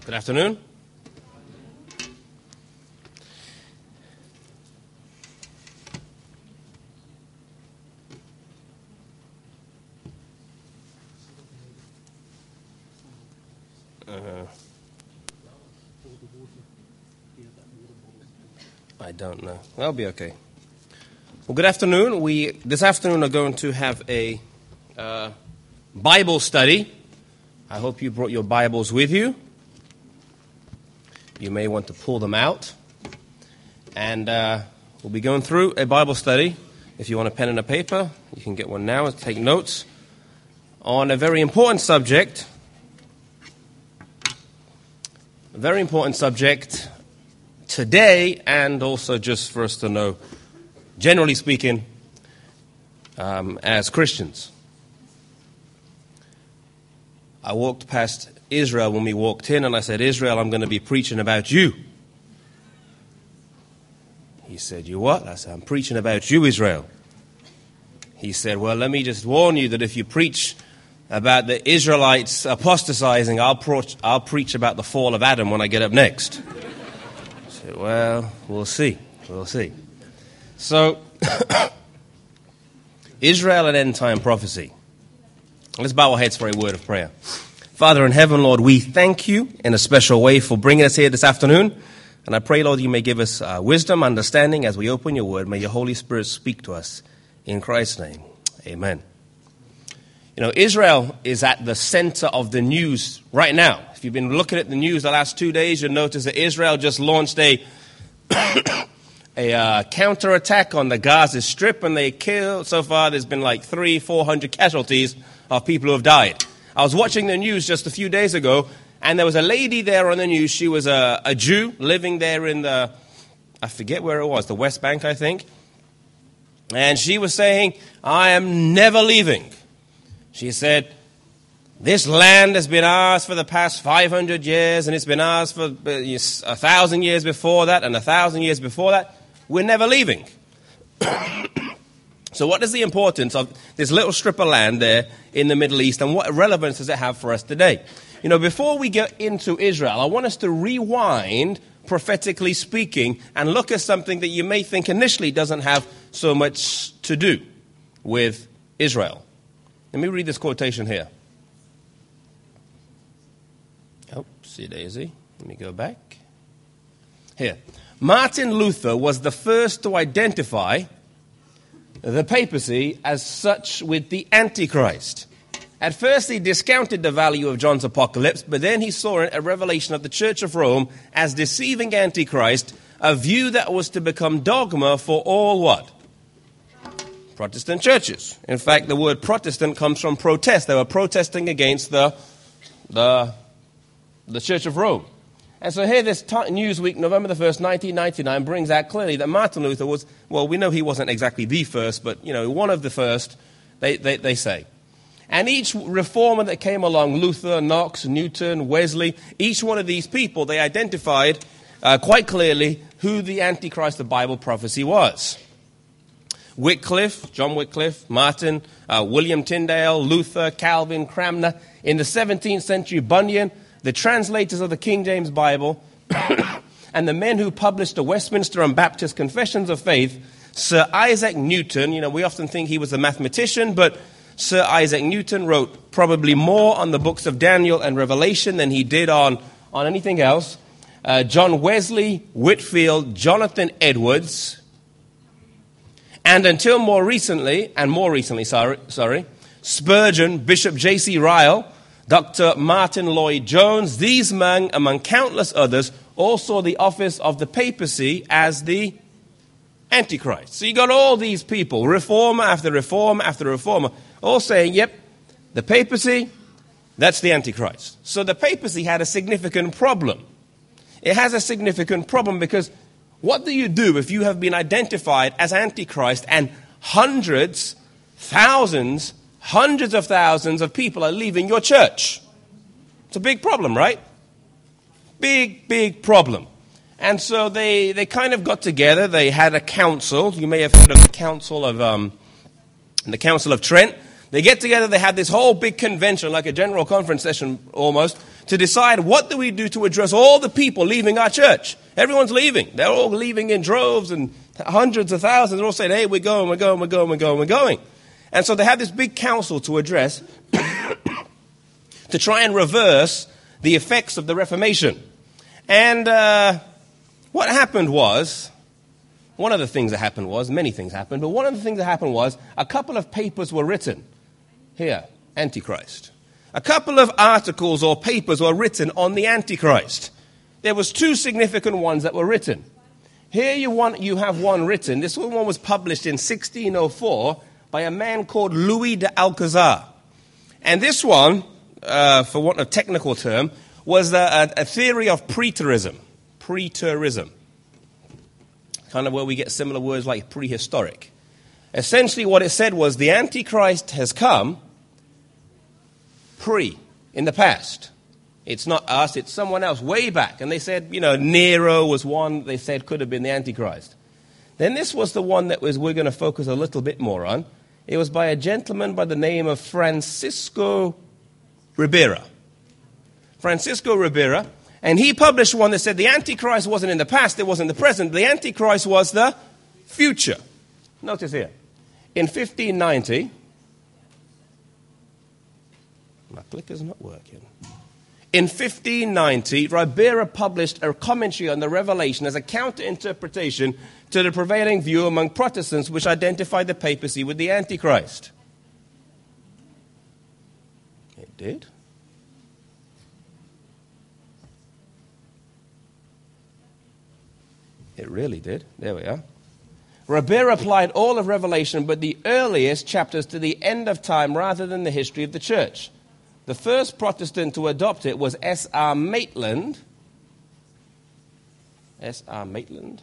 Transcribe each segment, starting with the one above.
Good afternoon. I don't know. That'll be okay. Well, good afternoon. This afternoon are going to have a Bible study. I hope you brought your Bibles with you. You may want to pull them out. And we'll be going through a Bible study. If you want a pen and a paper, you can get one now and take notes on a very important subject. A very important subject today, and also just for us to know, generally speaking, as Christians. I walked past Israel when we walked in, and I said, Israel, I'm going to be preaching about you. He said, you what? I said, I'm preaching about you, Israel. He said, well, let me just warn you that if you preach about the Israelites apostatizing, I'll preach about the fall of Adam when I get up next. I said, well, we'll see. We'll see. So, Israel and end-time prophecy. Let's bow our heads for a word of prayer. Father in heaven, Lord, we thank you in a special way for bringing us here this afternoon. And I pray, Lord, you may give us wisdom, understanding as we open your word. May your Holy Spirit speak to us. In Christ's name, amen. You know, Israel is at the center of the news right now. If you've been looking at the news the last 2 days, you'll notice that Israel just launched a counterattack on the Gaza Strip, and they killed, so far there's been like 300-400 casualties of people who have died. I was watching the news just a few days ago, and there was a lady there on the news. She was a Jew living there in I forget where it was, the West Bank, I think. And she was saying, I am never leaving. She said, this land has been ours for the past 500 years, and it's been ours for 1,000 years before that, and 1,000 years before that. We're never leaving. So what is the importance of this little strip of land there in the Middle East, and what relevance does it have for us today? You know, before we get into Israel, I want us to rewind, prophetically speaking, and look at something that you may think initially doesn't have so much to do with Israel. Let me read this quotation here. Oopsie daisy. Let me go back. Here. Martin Luther was the first to identify the papacy as such with the Antichrist. At first he discounted the value of John's apocalypse, but then he saw in a revelation of the Church of Rome as deceiving Antichrist, a view that was to become dogma for all what? Protestant churches. In fact, the word Protestant comes from protest. They were protesting against the Church of Rome. And so here this Newsweek, November the 1st, 1999, brings out clearly that Martin Luther was, well, we know he wasn't exactly the first, but, you know, one of the first, they say. And each reformer that came along, Luther, Knox, Newton, Wesley, each one of these people, they identified quite clearly who the Antichrist of Bible prophecy was. Wycliffe, John Wycliffe, Martin, William Tyndale, Luther, Calvin, Cranmer. In the 17th century, Bunyan, the translators of the King James Bible, and the men who published the Westminster and Baptist Confessions of Faith, Sir Isaac Newton. You know, we often think he was a mathematician, but Sir Isaac Newton wrote probably more on the books of Daniel and Revelation than he did on anything else. John Wesley, Whitefield, Jonathan Edwards, and until more recently, Spurgeon, Bishop J.C. Ryle, Dr. Martin Lloyd-Jones, these men, among countless others, all saw the office of the papacy as the Antichrist. So you got all these people, reformer after reformer after reformer, all saying, yep, the papacy, that's the Antichrist. So the papacy had a significant problem. It has a significant problem because what do you do if you have been identified as Antichrist and hundreds of thousands of people are leaving your church? It's a big problem, right? Big problem. And so they kind of got together. They had a council. You may have heard of the Council of Trent. They get together. They had this whole big convention, like a general conference session almost, to decide what do we do to address all the people leaving our church. Everyone's leaving. They're all leaving in droves and hundreds of thousands. They're all saying, hey, we're going. And so they had this big council to address to try and reverse the effects of the Reformation. And what happened was, one of the things that happened was, many things happened, but one of the things that happened was a couple of papers were written. Here, Antichrist. A couple of articles or papers were written on the Antichrist. There was two significant ones that were written. Here you have one written. This one was published in 1604 by a man called Louis de Alcazar. And this one, for want of a technical term, was a theory of preterism. Preterism. Kind of where we get similar words like prehistoric. Essentially what it said was the Antichrist has come in the past. It's not us, it's someone else way back. And they said, Nero was one they said could have been the Antichrist. Then this was the one that we're going to focus a little bit more on. It was by a gentleman by the name of Francisco Ribera. Francisco Ribera. And he published one that said the Antichrist wasn't in the past, it wasn't the present. The Antichrist was the future. Notice here. In 1590, my clicker's not working. In 1590, Ribera published a commentary on the Revelation as a counter-interpretation to the prevailing view among Protestants which identified the papacy with the Antichrist. It did. It really did. There we are. Ribera applied all of Revelation, but the earliest chapters to the end of time rather than the history of the church. The first Protestant to adopt it was S.R. Maitland. S.R. Maitland.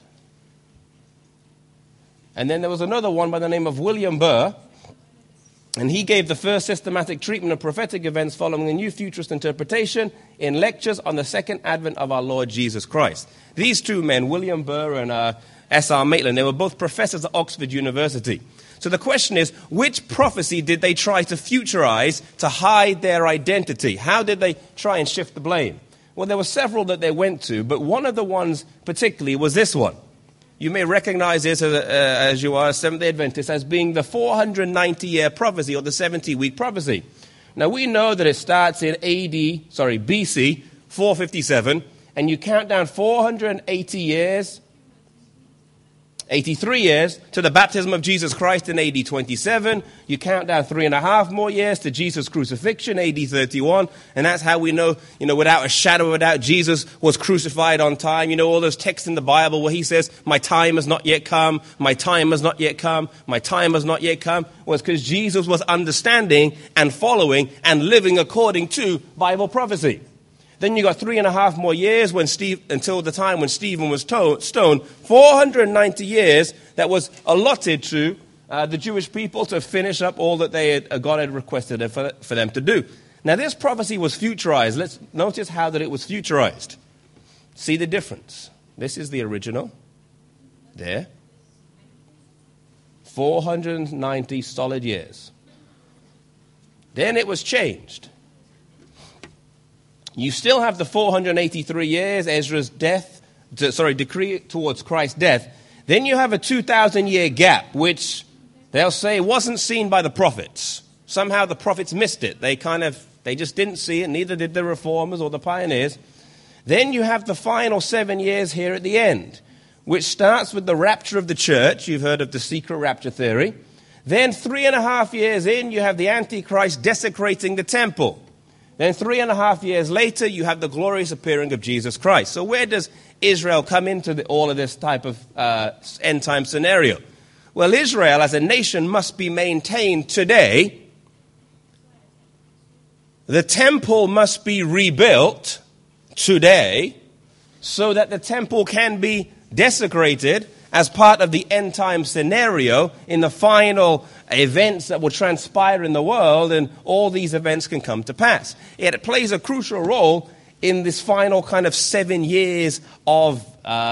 And then there was another one by the name of William Burr. And he gave the first systematic treatment of prophetic events following a new futurist interpretation in lectures on the second advent of our Lord Jesus Christ. These two men, William Burr and S.R. Maitland, they were both professors at Oxford University. So the question is, which prophecy did they try to futurize to hide their identity? How did they try and shift the blame? Well, there were several that they went to, but one of the ones particularly was this one. You may recognize this as you are a Seventh-day Adventist as being the 490-year prophecy or the 70-week prophecy. Now, we know that it starts in BC 457, and you count down 480 years, 83 years to the baptism of Jesus Christ in AD 27. You count down 3.5 more years to Jesus' crucifixion, AD 31. And that's how we know, without a shadow of a doubt, Jesus was crucified on time. All those texts in the Bible where he says, my time has not yet come, my time has not yet come, my time has not yet come, was because Jesus was understanding and following and living according to Bible prophecy. Then you got 3.5 more years until the time when Stephen was stoned. 490 years that was allotted to the Jewish people to finish up all that God had requested for them to do. Now this prophecy was futurized. Let's notice how that it was futurized. See the difference. This is the original. There. 490 solid years. Then it was changed. You still have the 483 years, Ezra's decree towards Christ's death. Then you have a 2,000-year gap, which they'll say wasn't seen by the prophets. Somehow the prophets missed it. They just didn't see it, neither did the reformers or the pioneers. Then you have the final 7 years here at the end, which starts with the rapture of the church. You've heard of the secret rapture theory. Then 3.5 years in, you have the Antichrist desecrating the temple. Then 3.5 years later, you have the glorious appearing of Jesus Christ. So where does Israel come into all of this type of end-time scenario? Well, Israel as a nation must be maintained today. The temple must be rebuilt today so that the temple can be desecrated as part of the end-time scenario in the final events that will transpire in the world, and all these events can come to pass. It plays a crucial role in this final kind of 7 years of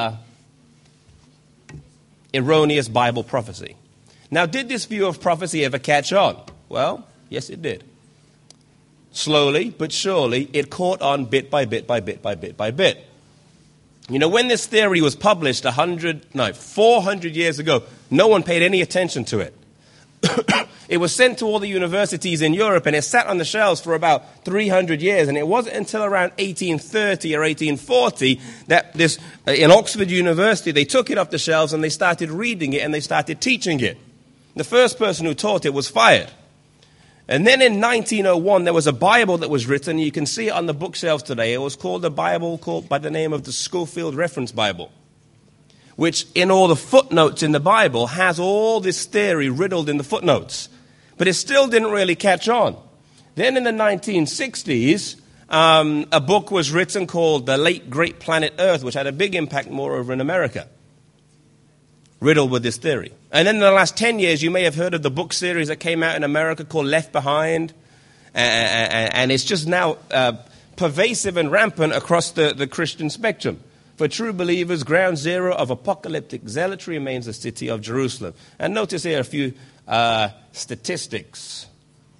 erroneous Bible prophecy. Now, did this view of prophecy ever catch on? Well, yes, it did. slowly but surely, it caught on bit by bit by bit by bit by bit. You know, when this theory was published 400 years ago, no one paid any attention to it. It was sent to all the universities in Europe, and it sat on the shelves for about 300 years. And it wasn't until around 1830 or 1840 that in Oxford University, they took it off the shelves and they started reading it and they started teaching it. The first person who taught it was fired. And then in 1901, there was a Bible that was written. You can see it on the bookshelves today. It was called a Bible called by the name of the Scofield Reference Bible, which in all the footnotes in the Bible has all this theory riddled in the footnotes. But it still didn't really catch on. Then in the 1960s, a book was written called The Late Great Planet Earth, which had a big impact moreover in America, riddled with this theory. And then in the last 10 years, you may have heard of the book series that came out in America called Left Behind. And it's just now pervasive and rampant across the Christian spectrum. For true believers, ground zero of apocalyptic zealotry remains the city of Jerusalem. And notice here a few statistics.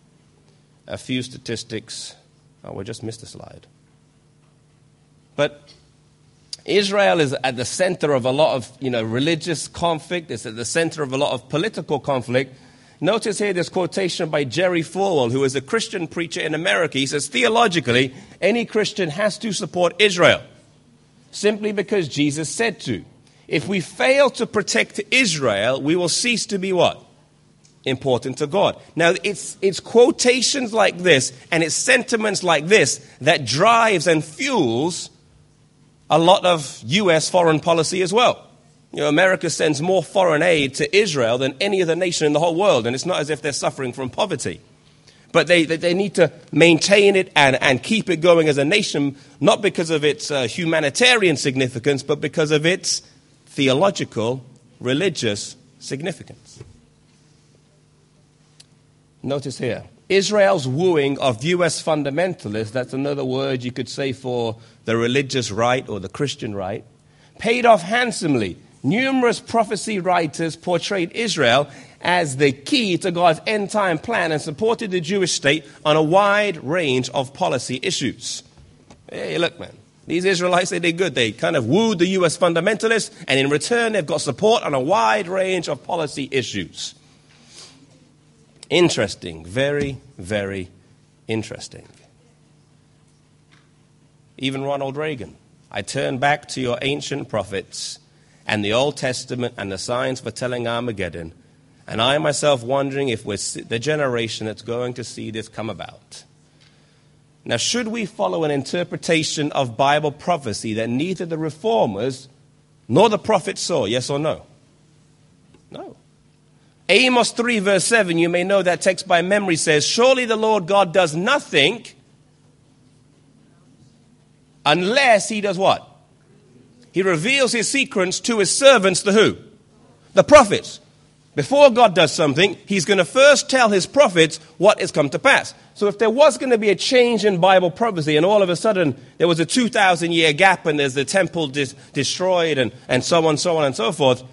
Oh, we just missed a slide. But Israel is at the center of a lot of, religious conflict. It's at the center of a lot of political conflict. Notice here this quotation by Jerry Falwell, who is a Christian preacher in America. He says, theologically, any Christian has to support Israel, simply because Jesus said to. If we fail to protect Israel, we will cease to be what? Important to God. Now, it's quotations like this and it's sentiments like this that drives and fuels a lot of U.S. foreign policy as well. America sends more foreign aid to Israel than any other nation in the whole world, and it's not as if they're suffering from poverty. But they need to maintain it and keep it going as a nation, not because of its humanitarian significance, but because of its theological, religious significance. Notice here, Israel's wooing of U.S. fundamentalists, that's another word you could say for the religious right or the Christian right, paid off handsomely. Numerous prophecy writers portrayed Israel as the key to God's end-time plan and supported the Jewish state on a wide range of policy issues. Hey, look, man, these Israelites, they did good. They kind of wooed the U.S. fundamentalists, and in return, they've got support on a wide range of policy issues. Interesting. Very, very interesting. Even Ronald Reagan. I turn back to your ancient prophets and the Old Testament and the signs foretelling Armageddon, and I myself wondering if we're the generation that's going to see this come about. Now, should we follow an interpretation of Bible prophecy that neither the reformers nor the prophets saw, yes or no? No. Amos 3 verse 7, you may know that text by memory, says, surely the Lord God does nothing unless he does what? He reveals his secrets to his servants, the who? The prophets. Before God does something, he's going to first tell his prophets what has come to pass. So if there was going to be a change in Bible prophecy and all of a sudden there was a 2,000-year gap and there's the temple destroyed and so on and so forth,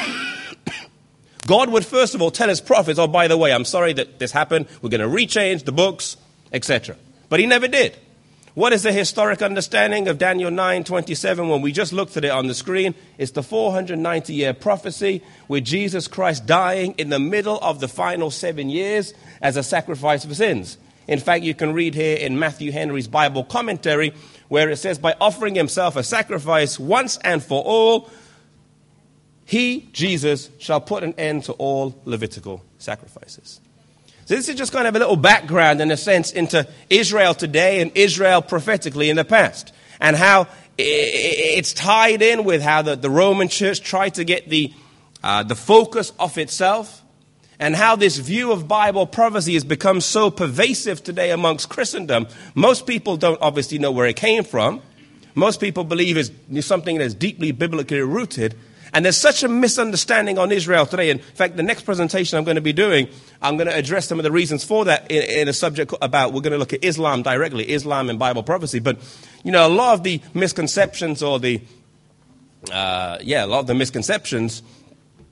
God would first of all tell his prophets, oh, by the way, I'm sorry that this happened. We're going to rechange the books, etc. But he never did. What is the historic understanding of Daniel 9:27 when we just looked at it on the screen? It's the 490-year prophecy with Jesus Christ dying in the middle of the final 7 years as a sacrifice for sins. In fact, you can read here in Matthew Henry's Bible commentary where it says, by offering himself a sacrifice once and for all, he, Jesus, shall put an end to all Levitical sacrifices. So this is just kind of a little background, in a sense, into Israel today and Israel prophetically in the past. And how it's tied in with how the Roman Church tried to get the focus off itself. And how this view of Bible prophecy has become so pervasive today amongst Christendom. Most people don't obviously know where it came from. Most people believe it's something that's deeply biblically rooted. And there's such a misunderstanding on Israel today. In fact, the next presentation I'm going to be doing, I'm going to address some of the reasons for that in a subject about, we're going to look at Islam directly, Islam and Bible prophecy. But, a lot of the misconceptions a lot of the misconceptions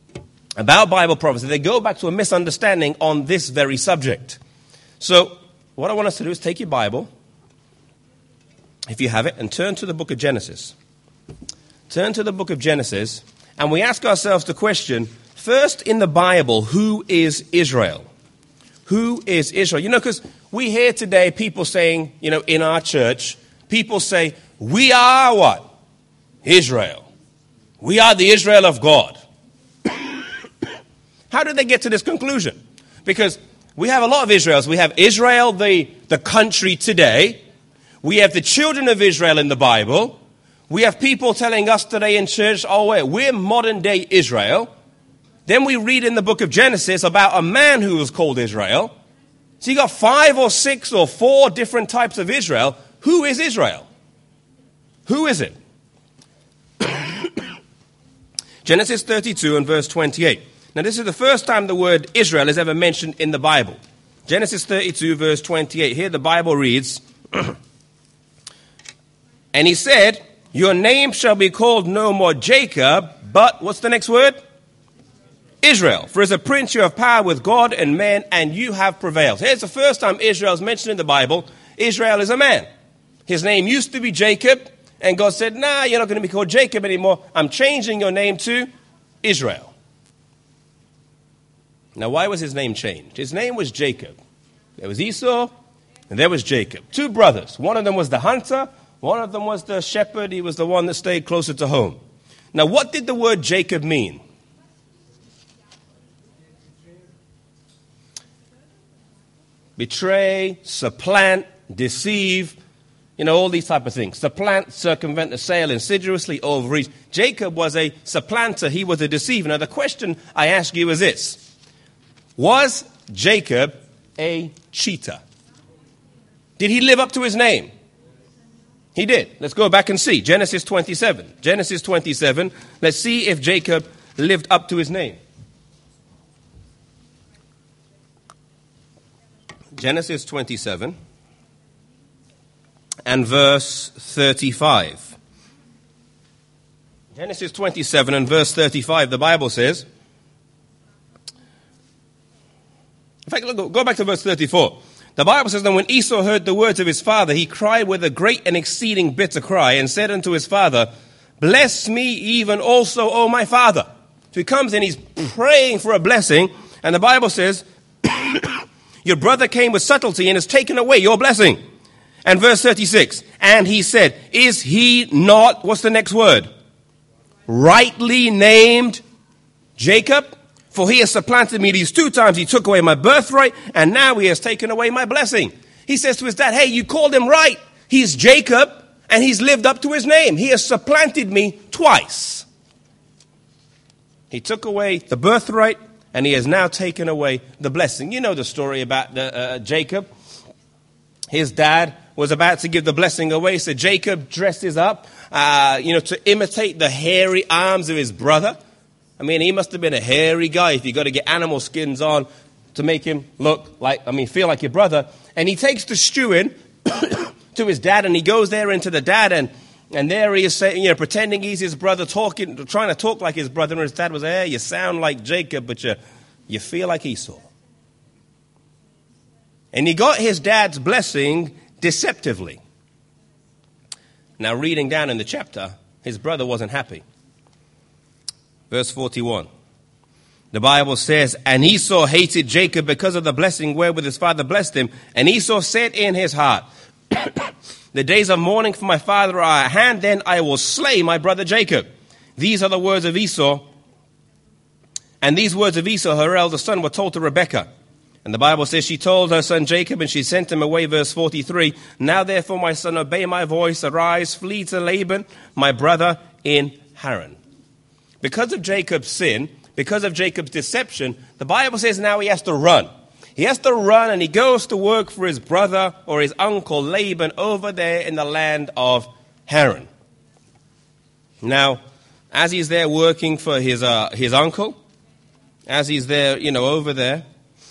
about Bible prophecy, they go back to a misunderstanding on this very subject. So, what I want us to do is take your Bible, if you have it, and turn to the book of Genesis. Turn to the book of Genesis, and we ask ourselves the question, first in the Bible, who is Israel? Who is Israel? You know, because we hear today people saying, you know, in our church, people say, we are what? Israel. We are the Israel of God. How did they get to this conclusion? Because we have a lot of Israels. We have Israel, the country today. We have the children of Israel in the Bible. We have people telling us today in church, oh, wait, we're modern day Israel. Then we read in the book of Genesis about a man who was called Israel. So you got 5 or 6 or 4 different types of Israel. Who is Israel? Who is it? Genesis 32 and verse 28. Now this is the first time the word Israel is ever mentioned in the Bible. Genesis 32 verse 28. Here the Bible reads, and he said, your name shall be called no more Jacob, but what's the next word? Israel. For as a prince you have power with God and men, and you have prevailed. Here's the first time Israel is mentioned in the Bible. Israel is a man. His name used to be Jacob, and God said, nah, you're not going to be called Jacob anymore. I'm changing your name to Israel. Now, why was his name changed? His name was Jacob. There was Esau, and there was Jacob. 2 brothers. One of them was the hunter. One of them was the shepherd. He was the one that stayed closer to home. Now, what did the word Jacob mean? Betray, supplant, deceive, you know, all these type of things. Supplant, circumvent, assail, insidiously overreach. Jacob was a supplanter. He was a deceiver. Now, the question I ask you is this. Was Jacob a cheater? Did he live up to his name? He did. Let's go back and see. Genesis 27. Genesis 27. Let's see if Jacob lived up to his name. Genesis 27 and verse 35. Genesis 27 and verse 35, the Bible says, in fact, look, go back to verse 34. The Bible says that when Esau heard the words of his father, he cried with a great and exceeding bitter cry and said unto his father, bless me even also, O my father. So he comes and he's praying for a blessing, and the Bible says, your brother came with subtlety and has taken away your blessing. And verse 36, and he said, is he not, what's the next word? Rightly named Jacob? For he has supplanted me these 2 times. He took away my birthright, and now he has taken away my blessing. He says to his dad, hey, you called him right. He's Jacob, and he's lived up to his name. He has supplanted me twice. He took away the birthright, and he has now taken away the blessing. You know the story about Jacob. His dad was about to give the blessing away, so Jacob dresses up, to imitate the hairy arms of his brother. I mean, he must have been a hairy guy if you got to get animal skins on to make him feel like your brother. And he takes the stew in to his dad, and he goes there into the dad, and there he is saying, pretending he's his brother, trying to talk like his brother. And his dad was, hey, you sound like Jacob, but you feel like Esau. And he got his dad's blessing deceptively. Now, reading down in the chapter, his brother wasn't happy. Verse 41. The Bible says, and Esau hated Jacob because of the blessing wherewith his father blessed him. And Esau said in his heart, the days of mourning for my father are at hand, then I will slay my brother Jacob. These are the words of Esau. And these words of Esau, her elder son, were told to Rebekah. And the Bible says she told her son Jacob, and she sent him away, verse 43. Now therefore, my son, obey my voice, arise, flee to Laban, my brother, in Haran. Because of Jacob's sin, because of Jacob's deception, the Bible says now he has to run. He has to run, and he goes to work for his brother or his uncle Laban over there in the land of Haran. Now, as he's there working for his uncle, as he's there, over there,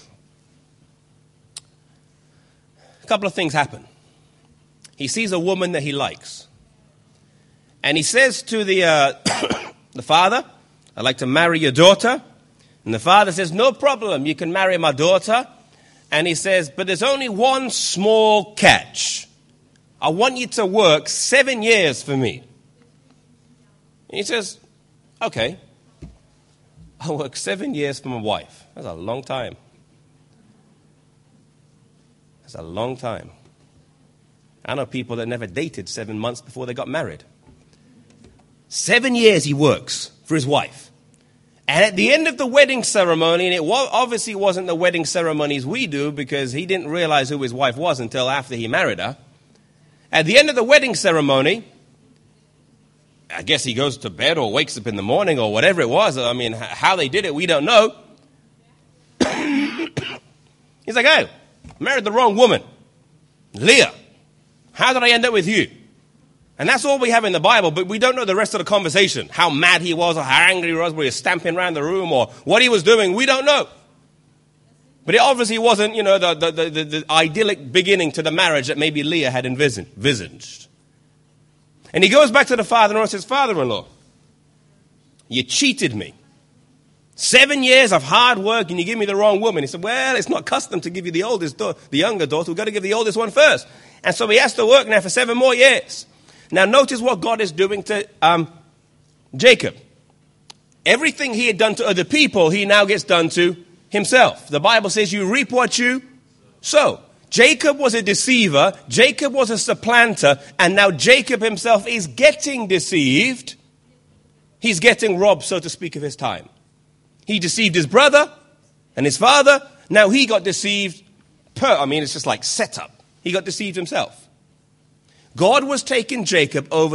a couple of things happen. He sees a woman that he likes. And he says to the father, I'd like to marry your daughter. And the father says, no problem, you can marry my daughter. And he says, but there's only one small catch. I want you to work 7 years for me. And he says, okay, I'll work 7 years for my wife. That's a long time. That's a long time. I know people that never dated 7 months before they got married. 7 years he works for his wife. And at the end of the wedding ceremony, and it obviously wasn't the wedding ceremonies we do because he didn't realize who his wife was until after he married her. At the end of the wedding ceremony, I guess he goes to bed or wakes up in the morning or whatever it was. I mean, how they did it, we don't know. He's like, oh, married the wrong woman. Leah, how did I end up with you? And that's all we have in the Bible, but we don't know the rest of the conversation. How mad he was or how angry he was, whether he was stamping around the room or what he was doing, we don't know. But it obviously wasn't, the idyllic beginning to the marriage that maybe Leah had envisaged. And he goes back to the father-in-law and says, Father-in-law, you cheated me. 7 years of hard work and you give me the wrong woman. He said, well, it's not custom to give you the younger daughter. We've got to give the oldest one first. And so he has to work now for 7 more years. Now notice what God is doing to Jacob. Everything he had done to other people, he now gets done to himself. The Bible says you reap what you sow. Jacob was a deceiver. Jacob was a supplanter. And now Jacob himself is getting deceived. He's getting robbed, so to speak, of his time. He deceived his brother and his father. Now he got deceived. It's just like set up. He got deceived himself. God was taking Jacob over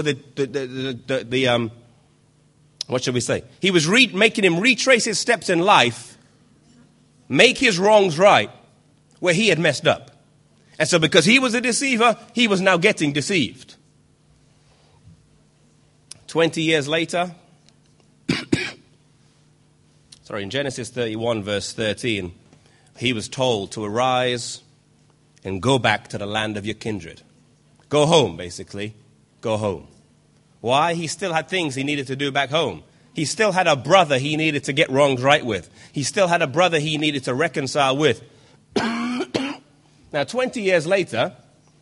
what shall we say? He was making him retrace his steps in life, make his wrongs right, where he had messed up. And so because he was a deceiver, he was now getting deceived. 20 years later, in Genesis 31, verse 13, he was told to arise and go back to the land of your kindred. Go home, basically. Go home. Why? He still had things he needed to do back home. He still had a brother he needed to get wrongs right with. He still had a brother he needed to reconcile with. Now, 20 years later,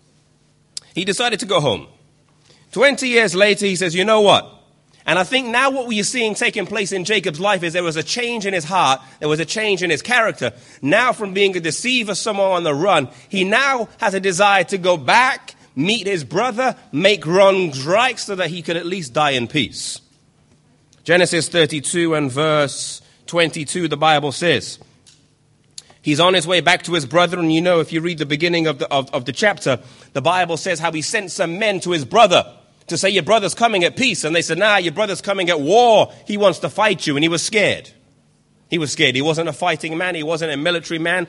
he decided to go home. 20 years later, he says, you know what? And I think now what we're seeing taking place in Jacob's life is there was a change in his heart. There was a change in his character. Now from being a deceiver, someone on the run, he now has a desire to go back, meet his brother, make wrongs right so that he could at least die in peace. Genesis 32 and verse 22, the Bible says, he's on his way back to his brother, and if you read the beginning of the chapter, the Bible says how he sent some men to his brother to say, your brother's coming at peace. And they said, nah, your brother's coming at war. He wants to fight you. And he was scared. He was scared. He wasn't a fighting man. He wasn't a military man.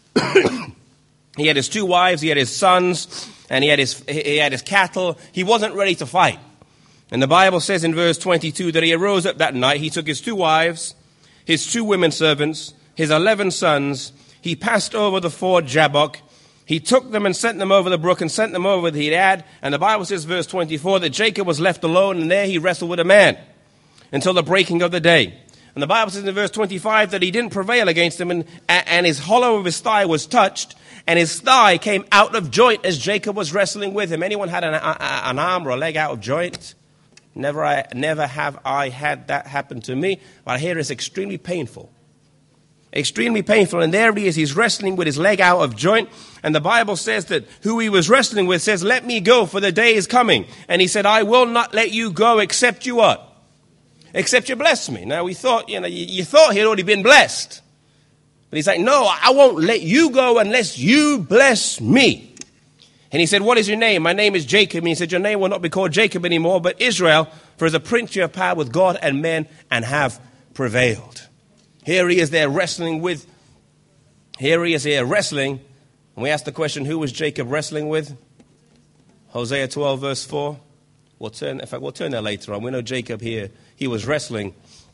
He had his 2 wives. He had his sons. And he had his cattle. He wasn't ready to fight. And the Bible says in verse 22 that he arose up that night. He took his 2 wives, his 2 women servants, his 11 sons. He passed over the ford Jabbok. He took them and sent them over the brook and sent them over the Gilead. And the Bible says, verse 24, that Jacob was left alone, and there he wrestled with a man until the breaking of the day. And the Bible says in verse 25 that he didn't prevail against him, and his hollow of his thigh was touched, and his thigh came out of joint as Jacob was wrestling with him. Anyone had an arm or a leg out of joint? Never have I had that happen to me. But I hear it's extremely painful. Extremely painful. And there he is. He's wrestling with his leg out of joint. And the Bible says that who he was wrestling with says, let me go, for the day is coming. And he said, I will not let you go except you what? Except you bless me. Now we thought, you thought he had already been blessed. But he's like, no, I won't let you go unless you bless me. And he said, what is your name? My name is Jacob. And he said, your name will not be called Jacob anymore, but Israel, for as a prince you have power with God and men and have prevailed. Here he is there wrestling with. Here he is here wrestling. And we ask the question, who was Jacob wrestling with? Hosea 12 verse 4. We'll turn there later on. We know Jacob here, he was wrestling.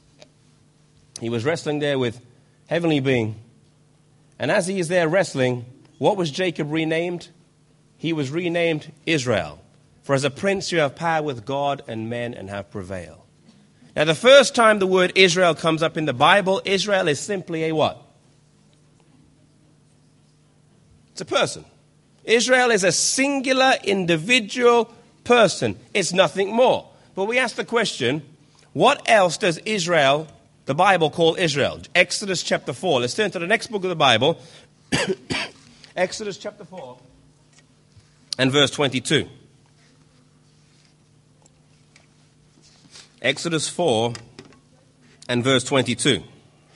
He was wrestling there with heavenly being. And as he is there wrestling, what was Jacob renamed? He was renamed Israel. For as a prince you have power with God and men and have prevailed. Now the first time the word Israel comes up in the Bible, Israel is simply a what? It's a person. Israel is a singular individual person. It's nothing more. But we ask the question, what else does Israel, the Bible, call Israel? Exodus chapter 4. Let's turn to the next book of the Bible. Exodus chapter 4 and verse 22. Exodus 4 and verse 22.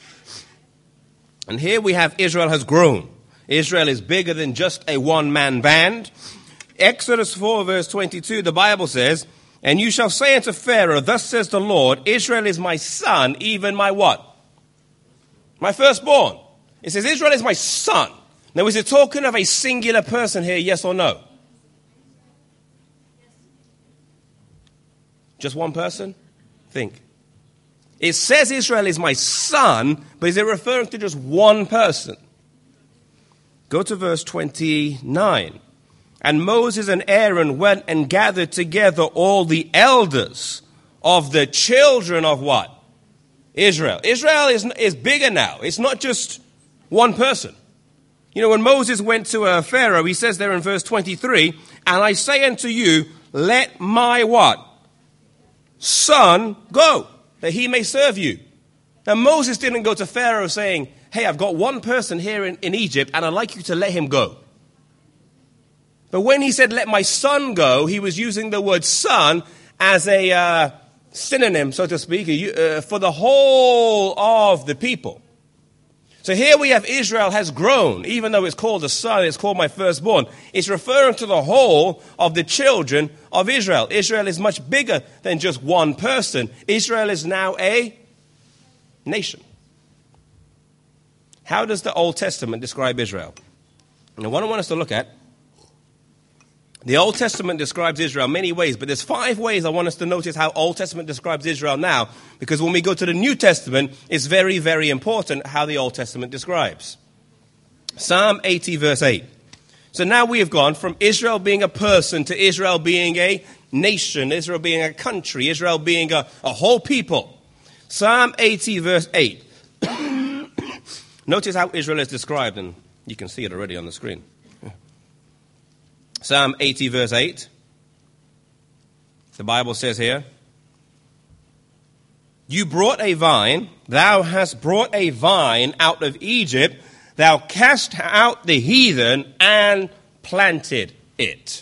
And here we have Israel has grown. Israel is bigger than just a one-man band. Exodus 4 verse 22, the Bible says, and you shall say unto Pharaoh, thus says the Lord, Israel is my son, even my what? My firstborn. It says Israel is my son. Now is it talking of a singular person here, yes or no? Just one person? Think. It says Israel is my son, but is it referring to just one person? Go to verse 29. And Moses and Aaron went and gathered together all the elders of the children of what? Israel. Israel is bigger now. It's not just one person. You know, when Moses went to Pharaoh, he says there in verse 23, and I say unto you, let my what? Son go, that he may serve you. Now Moses didn't go to Pharaoh saying, hey, I've got one person here in Egypt, and I'd like you to let him go. But when he said, let my son go, he was using the word son as a synonym, so to speak, for the whole of the people. So here we have Israel has grown. Even though it's called a son, it's called my firstborn. It's referring to the whole of the children of Israel. Israel is much bigger than just one person. Israel is now a nation. How does the Old Testament describe Israel? And what I want us to look at, the Old Testament describes Israel many ways, but there's 5 ways I want us to notice how Old Testament describes Israel now, because when we go to the New Testament, it's very, very important how the Old Testament describes. Psalm 80, verse 8. So now we have gone from Israel being a person to Israel being a nation, Israel being a country, Israel being a whole people. Psalm 80, verse 8. Notice how Israel is described, and you can see it already on the screen. Psalm 80, verse 8. The Bible says here, you brought a vine, thou hast brought a vine out of Egypt, thou cast out the heathen and planted it.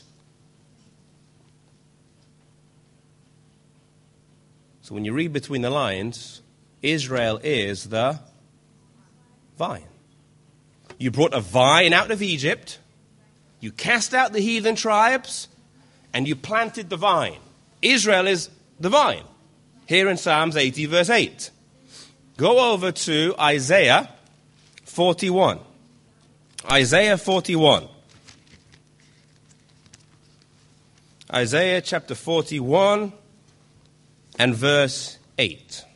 So when you read between the lines, Israel is the vine. You brought a vine out of Egypt, you cast out the heathen tribes, and you planted the vine. Israel is the vine. Here in Psalms 80, verse 8. Go over to Isaiah 41. Isaiah 41. Isaiah chapter 41 and verse 8.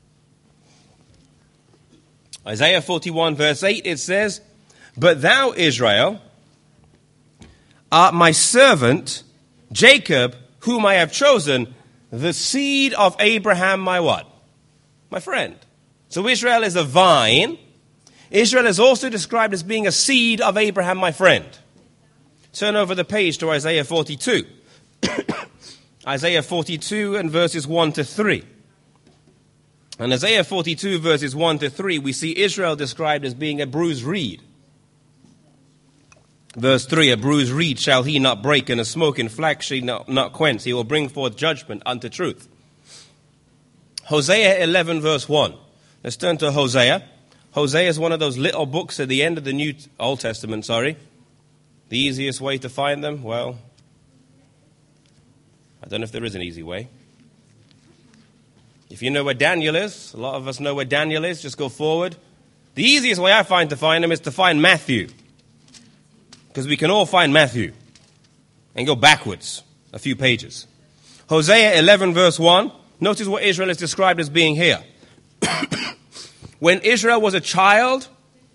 Isaiah 41, verse 8, it says, but thou, Israel, art my servant, Jacob, whom I have chosen, the seed of Abraham, my what? My friend. So Israel is a vine. Israel is also described as being a seed of Abraham, my friend. Turn over the page to Isaiah 42. Isaiah 42 and verses 1 to 3. In Isaiah 42 verses 1 to 3, we see Israel described as being a bruised reed. Verse 3, a bruised reed shall he not break, and a smoking flax shall not quench. He will bring forth judgment unto truth. Hosea 11 verse 1. Let's turn to Hosea. Hosea is one of those little books at the end of the Old Testament, The easiest way to find them? Well, I don't know if there is an easy way. If you know where Daniel is, a lot of us know where Daniel is, just go forward. The easiest way I find to find him is to find Matthew. Because we can all find Matthew and go backwards a few pages. Hosea 11 verse 1. Notice what Israel is described as being here. When Israel was a child,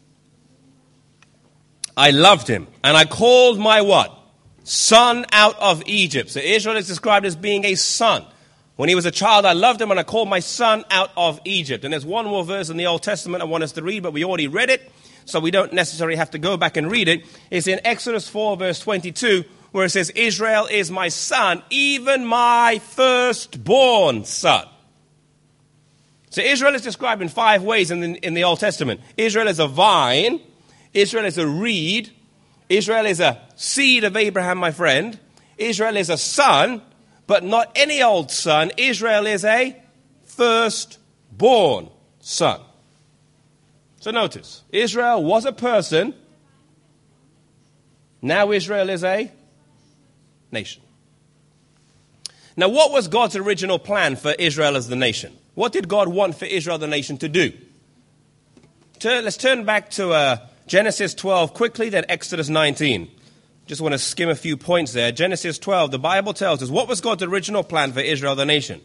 I loved him. And I called my what? Son out of Egypt. So Israel is described as being a son. When he was a child, I loved him and I called my son out of Egypt. And there's one more verse in the Old Testament I want us to read, but we already read it. so we don't necessarily have to go back and read it. It's in Exodus 4, verse 22, where it says, Israel is my son, even my firstborn son. So Israel is described in 5 ways in the Old Testament. Israel is a vine. Israel is a reed. Israel is a seed of Abraham, my friend. Israel is a son, but not any old son. Israel is a firstborn son. So notice, Israel was a person. Now Israel is a nation. Now, what was God's original plan for Israel as the nation? What did God want for Israel, the nation, to do? Let's turn back to Genesis 12 quickly, then Exodus 19. Just want to skim a few points there. Genesis 12, the Bible tells us, what was God's original plan for Israel, the nation?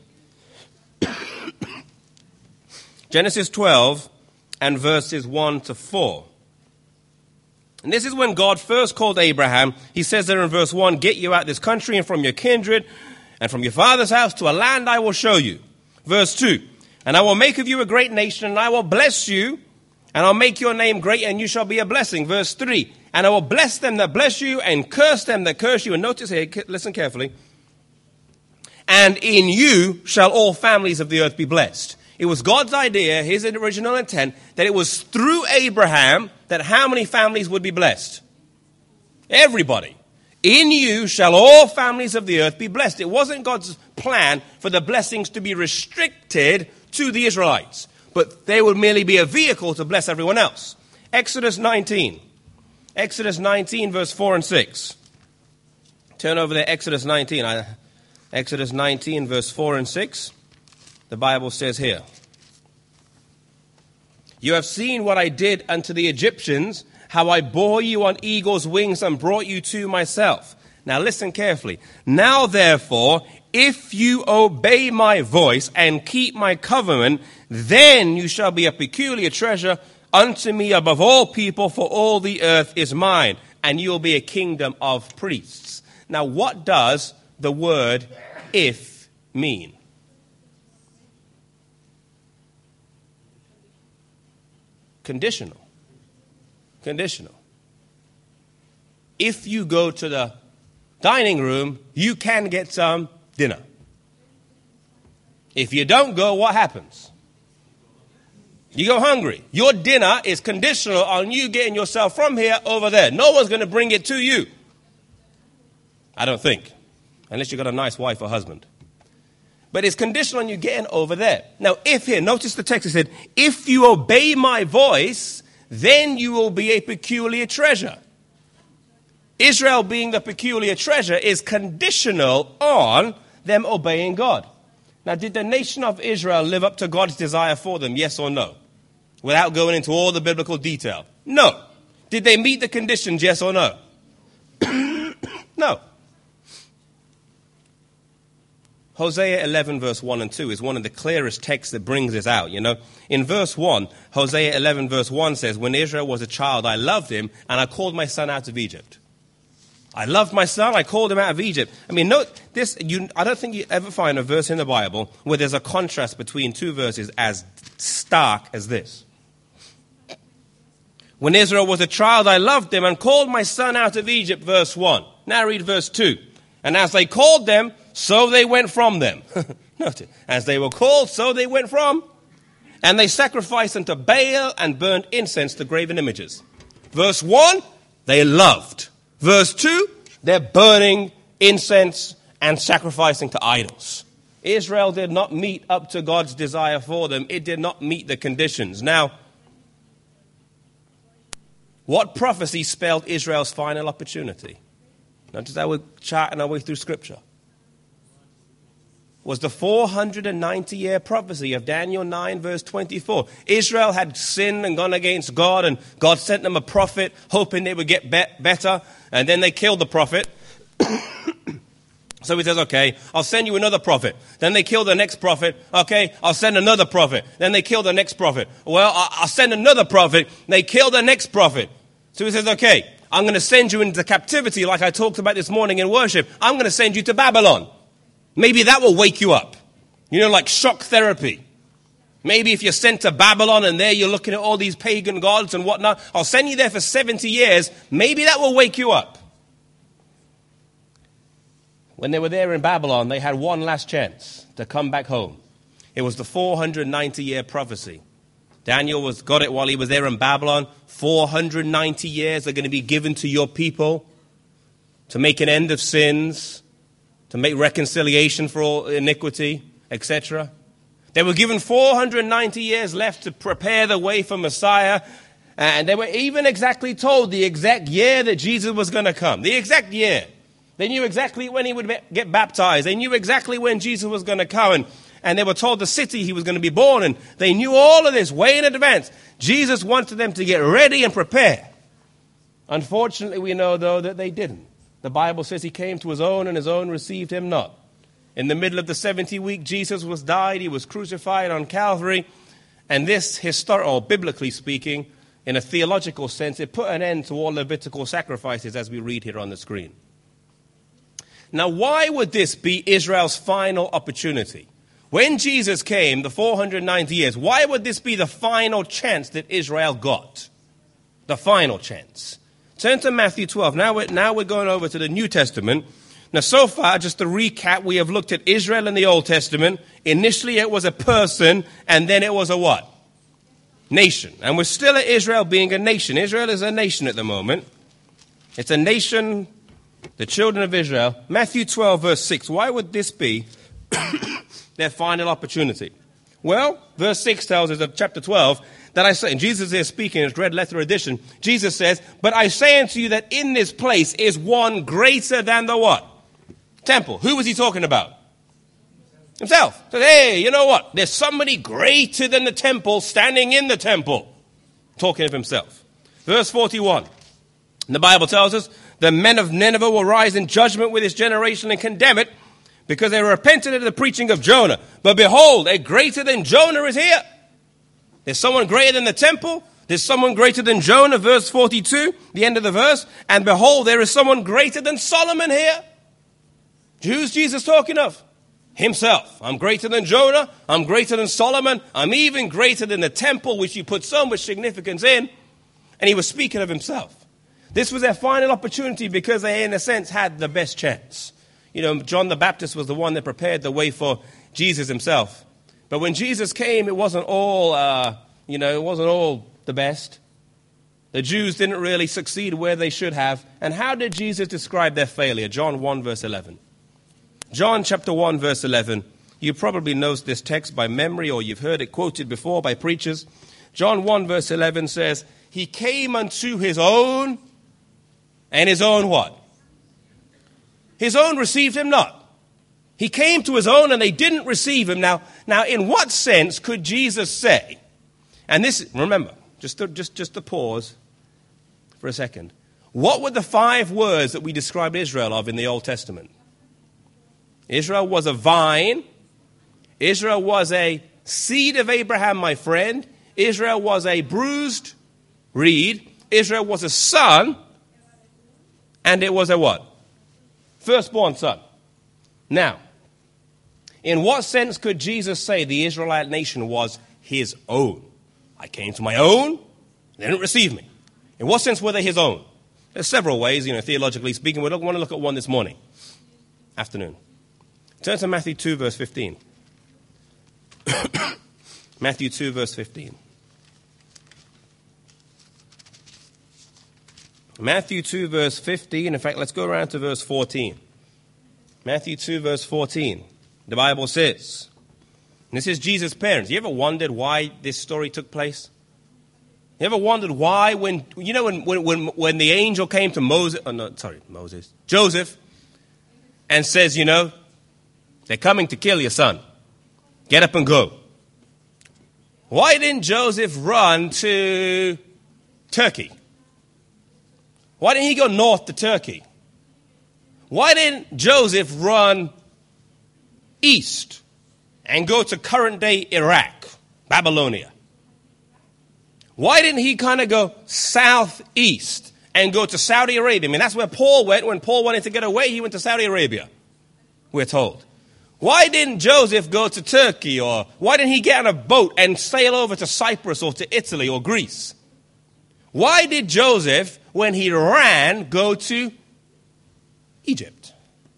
Genesis 12 and verses 1 to 4. And this is when God first called Abraham. He says there in verse 1, get you out of this country and from your kindred and from your father's house to a land I will show you. Verse 2, and I will make of you a great nation, and I will bless you, and I'll make your name great, and you shall be a blessing. Verse 3, and I will bless them that bless you, and curse them that curse you. And notice here, listen carefully. And in you shall all families of the earth be blessed. It was God's idea, his original intent, that it was through Abraham that how many families would be blessed? Everybody. In you shall all families of the earth be blessed. It wasn't God's plan for the blessings to be restricted to the Israelites, but they would merely be a vehicle to bless everyone else. Exodus 19. Exodus 19, verse 4 and 6. Turn over there, Exodus 19. Exodus 19, verse 4 and 6. The Bible says here, you have seen what I did unto the Egyptians, how I bore you on eagle's wings and brought you to myself. Now listen carefully. Now therefore, if you obey my voice and keep my covenant, then you shall be a peculiar treasure unto me above all people, for all the earth is mine, and you will be a kingdom of priests. Now what does the word if mean? Conditional. Conditional. If you go to the dining room, you can get some dinner. If you don't go, what happens? You go hungry. Your dinner is conditional on you getting yourself from here over there. No one's going to bring it to you. I don't think. Unless you've got a nice wife or husband. But it's conditional on you getting over there. Now, if here, notice the text, it said, if you obey my voice, then you will be a peculiar treasure. Israel being the peculiar treasure is conditional on them obeying God. Now, did the nation of Israel live up to God's desire for them, yes or no? Without going into all the biblical detail. No. Did they meet the conditions, yes or no? No. Hosea 11 verse 1 and 2 is one of the clearest texts that brings this out, you know. In verse 1, Hosea 11 verse 1 says, when Israel was a child, I loved him, and I called my son out of Egypt. I loved my son, I called him out of Egypt. I mean, note this, I don't think you ever find a verse in the Bible where there's a contrast between two verses as stark as this. When Israel was a child, I loved him and called my son out of Egypt, verse 1. Now read verse 2. And as they called them, so they went from them. Notice, as they were called, so they went from. And they sacrificed unto Baal and burned incense to graven images. Verse 1, they loved. Verse 2, they're burning incense and sacrificing to idols. Israel did not meet up to God's desire for them. It did not meet the conditions. Now, what prophecy spelled Israel's final opportunity? Notice how we're charting our way through Scripture. Was the 490-year prophecy of Daniel 9, verse 24. Israel had sinned and gone against God, and God sent them a prophet, hoping they would get better, and then they killed the prophet. So he says, okay, I'll send you another prophet. Then they kill the next prophet. Okay, I'll send another prophet. Then they kill the next prophet. Well, I'll send another prophet. They kill the next prophet. So he says, okay, I'm going to send you into captivity like I talked about this morning in worship. I'm going to send you to Babylon. Maybe that will wake you up. You know, like shock therapy. Maybe if you're sent to Babylon and there you're looking at all these pagan gods and whatnot, I'll send you there for 70 years. Maybe that will wake you up. When they were there in Babylon, they had one last chance to come back home. It was the 490-year prophecy. Daniel got it while he was there in Babylon. 490 years are going to be given to your people to make an end of sins, to make reconciliation for all iniquity, etc. They were given 490 years left to prepare the way for Messiah. And they were even exactly told the exact year that Jesus was going to come. The exact year. They knew exactly when he would get baptized. They knew exactly when Jesus was going to come. And they were told the city he was going to be born in. They knew all of this way in advance. Jesus wanted them to get ready and prepare. Unfortunately, we know, though, that they didn't. The Bible says he came to his own and his own received him not. In the middle of the 70 week, Jesus was died. He was crucified on Calvary. And this, biblically speaking, in a theological sense, it put an end to all Levitical sacrifices as we read here on the screen. Now, why would this be Israel's final opportunity? When Jesus came, the 490 years, why would this be the final chance that Israel got? The final chance. Turn to Matthew 12. Now we're going over to the New Testament. Now, so far, just to recap, we have looked at Israel in the Old Testament. Initially, it was a person, and then it was a what? Nation. And we're still at Israel being a nation. Israel is a nation at the moment. It's a nation, the children of Israel. Matthew 12, verse 6. Why would this be their final opportunity? Well, verse 6 tells us of chapter 12 that I say, and Jesus is speaking in his red letter edition, Jesus says, but I say unto you that in this place is one greater than the what? Temple. Who was he talking about? Himself. He said, hey, you know what? There's somebody greater than the temple standing in the temple. Talking of himself. Verse 41. The Bible tells us, the men of Nineveh will rise in judgment with this generation and condemn it, because they repented of the preaching of Jonah. But behold, a greater than Jonah is here. There's someone greater than the temple. There's someone greater than Jonah, verse 42, the end of the verse. And behold, there is someone greater than Solomon here. Who's Jesus talking of? Himself. I'm greater than Jonah. I'm greater than Solomon. I'm even greater than the temple, which you put so much significance in. And he was speaking of himself. This was their final opportunity because they, in a sense, had the best chance. You know, John the Baptist was the one that prepared the way for Jesus himself. But when Jesus came, it wasn't all, it wasn't all the best. The Jews didn't really succeed where they should have. And how did Jesus describe their failure? John 1, verse 11. John chapter 1, verse 11. You probably know this text by memory, or you've heard it quoted before by preachers. John 1, verse 11 says, he came unto his own, and his own what? His own received him not. He came to his own and they didn't receive him. Now, in what sense could Jesus say, and this, remember, just to pause for a second. What were the 5 words that we described Israel of in the Old Testament? Israel was a vine. Israel was a seed of Abraham, my friend. Israel was a bruised reed. Israel was a son. And it was a what? Firstborn son. Now, in what sense could Jesus say the Israelite nation was his own? I came to my own, they didn't receive me. In what sense were they his own? There's several ways, theologically speaking. We want to look at one this afternoon. Turn to Matthew 2, verse 15. Matthew 2, verse 15. Matthew 2, verse 15. In fact, let's go around to verse 14. Matthew 2, verse 14. The Bible says, and this is Jesus' parents. You ever wondered why this story took place? You ever wondered why when the angel came to Joseph, and says, they're coming to kill your son. Get up and go. Why didn't Joseph run to Turkey? Why didn't he go north to Turkey? Why didn't Joseph run east and go to current-day Iraq, Babylonia? Why didn't he kind of go southeast and go to Saudi Arabia? I mean, that's where Paul went. When Paul wanted to get away, he went to Saudi Arabia, we're told. Why didn't Joseph go to Turkey? Or why didn't he get on a boat and sail over to Cyprus or to Italy or Greece? Why did Joseph, when he ran, go to Egypt?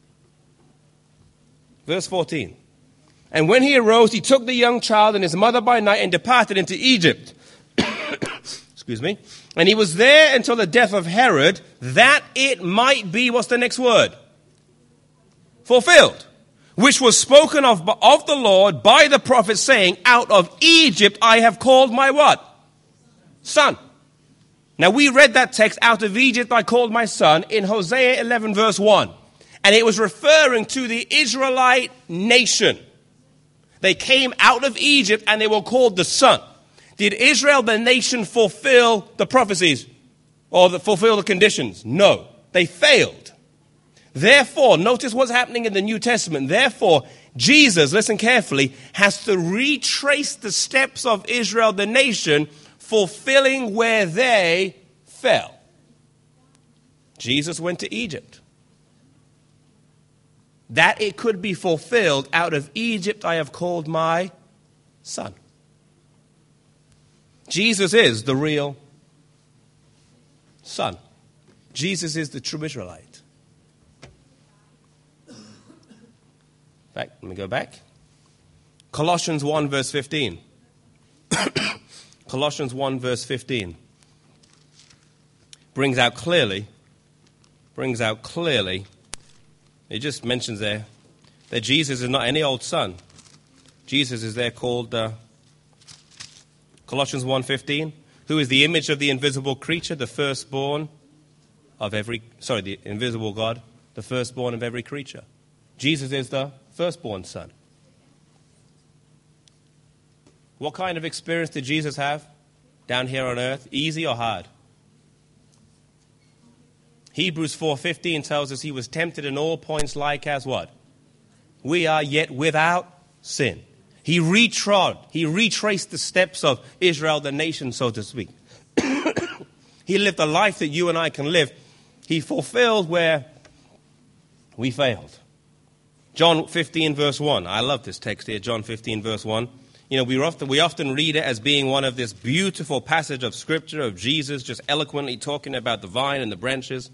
Verse 14. And when he arose, he took the young child and his mother by night and departed into Egypt. Excuse me. And he was there until the death of Herod, that it might be, what's the next word? Fulfilled. Which was spoken of the Lord by the prophet, saying, out of Egypt I have called my what? Son. Now we read that text, out of Egypt I called my son, in Hosea 11 verse 1. And it was referring to the Israelite nation. They came out of Egypt and they were called the son. Did Israel, the nation, fulfill the prophecies or fulfill the conditions? No, they failed. Therefore, notice what's happening in the New Testament. Therefore, Jesus, listen carefully, has to retrace the steps of Israel, the nation, fulfilling where they fell. Jesus went to Egypt. That it could be fulfilled, out of Egypt I have called my son. Jesus is the real son. Jesus is the true Israelite. Let me go back. Colossians 1 verse 15. Colossians 1 verse 15 brings out clearly, it just mentions there that Jesus is not any old son. Jesus is there called Colossians 1:15, who is the image of the invisible creature, the firstborn of the invisible God, the firstborn of every creature. Jesus is the firstborn son. What kind of experience did Jesus have down here on earth? Easy or hard? Hebrews 4:15 tells us he was tempted in all points like as what? We are, yet without sin. He retraced the steps of Israel, the nation, so to speak. He lived a life that you and I can live. He fulfilled where we failed. John 15 verse 1. I love this text here, John 15 verse 1. You know, we often read it as being one of this beautiful passage of Scripture of Jesus just eloquently talking about the vine and the branches.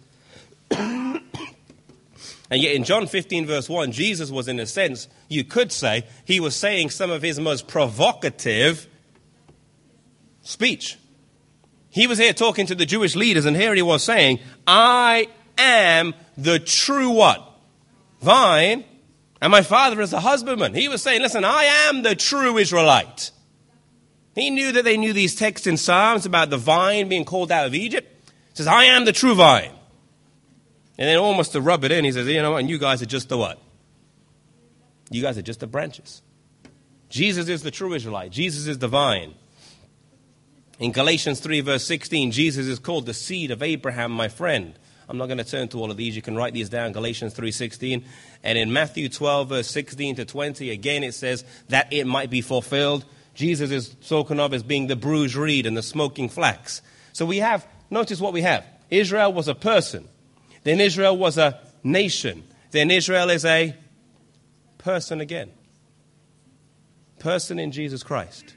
And yet in John 15 verse 1, Jesus was, in a sense, you could say, he was saying some of his most provocative speech. He was here talking to the Jewish leaders, and here he was saying, I am the true what? Vine, and my Father is the husbandman. He was saying, listen, I am the true Israelite. He knew that they knew these texts in Psalms about the vine being called out of Egypt. He says, I am the true vine. And then almost to rub it in, he says, you know what, and you guys are just the what? You guys are just the branches. Jesus is the true Israelite. Jesus is the vine. In Galatians 3 verse 16, Jesus is called the seed of Abraham, my friend. I'm not going to turn to all of these. You can write these down, Galatians 3:16. And in Matthew 12 verse 16 to 20, again it says that it might be fulfilled. Jesus is spoken of as being the bruised reed and the smoking flax. So we have, notice what we have. Israel was a person. Then Israel was a nation. Then Israel is a person again. Person in Jesus Christ.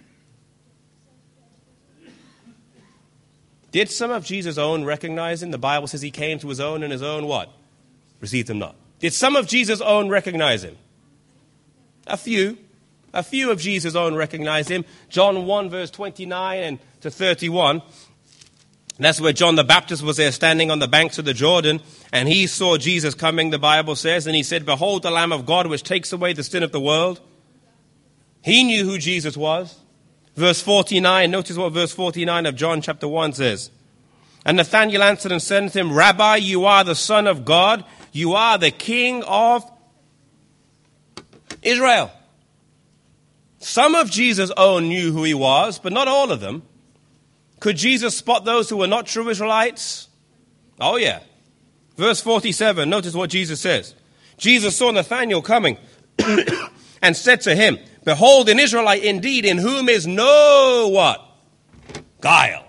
Did some of Jesus' own recognize him? The Bible says he came to his own, and his own what? Received him not. Did some of Jesus' own recognize him? A few. A few of Jesus' own recognize him. John 1 verse 29 and to 31. That's where John the Baptist was there standing on the banks of the Jordan, and he saw Jesus coming, the Bible says, and he said, behold the Lamb of God which takes away the sin of the world. He knew who Jesus was. Verse 49, notice what verse 49 of John chapter 1 says. And Nathanael answered and said unto him, Rabbi, you are the Son of God. You are the King of Israel. Some of Jesus' own knew who he was, but not all of them. Could Jesus spot those who were not true Israelites? Oh, yeah. Verse 47, notice what Jesus says. Jesus saw Nathanael coming and said to him, behold, an Israelite indeed, in whom is no what? Guile.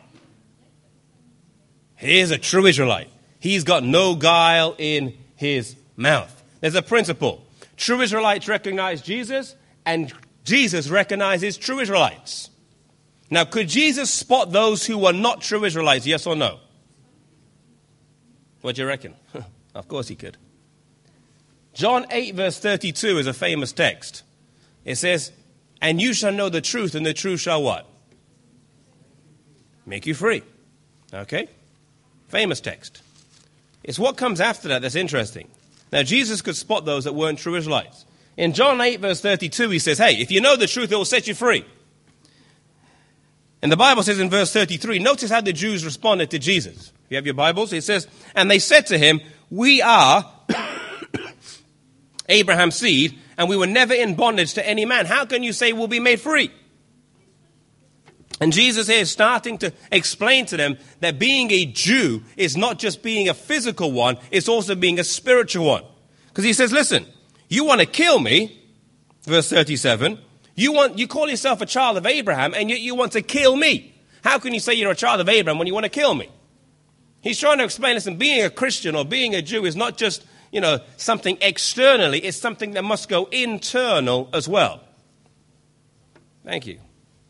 Here's a true Israelite. He's got no guile in his mouth. There's a principle. True Israelites recognize Jesus, and Jesus recognizes true Israelites. Now, could Jesus spot those who were not true Israelites, yes or no? What do you reckon? Of course he could. John 8, verse 32 is a famous text. It says, and you shall know the truth, and the truth shall what? Make you free. Okay? Famous text. It's what comes after that that's interesting. Now, Jesus could spot those that weren't true Israelites. In John 8, verse 32, he says, hey, if you know the truth, it will set you free. And the Bible says in verse 33, notice how the Jews responded to Jesus. If you have your Bibles, it says, and they said to him, we are Abraham's seed, and we were never in bondage to any man. How can you say we'll be made free? And Jesus here is starting to explain to them that being a Jew is not just being a physical one, it's also being a spiritual one. Because he says, listen, you want to kill me, verse 37, you call yourself a child of Abraham, and yet you want to kill me. How can you say you're a child of Abraham when you want to kill me? He's trying to explain, listen, being a Christian or being a Jew is not just, something externally, it's something that must go internal as well. Thank you.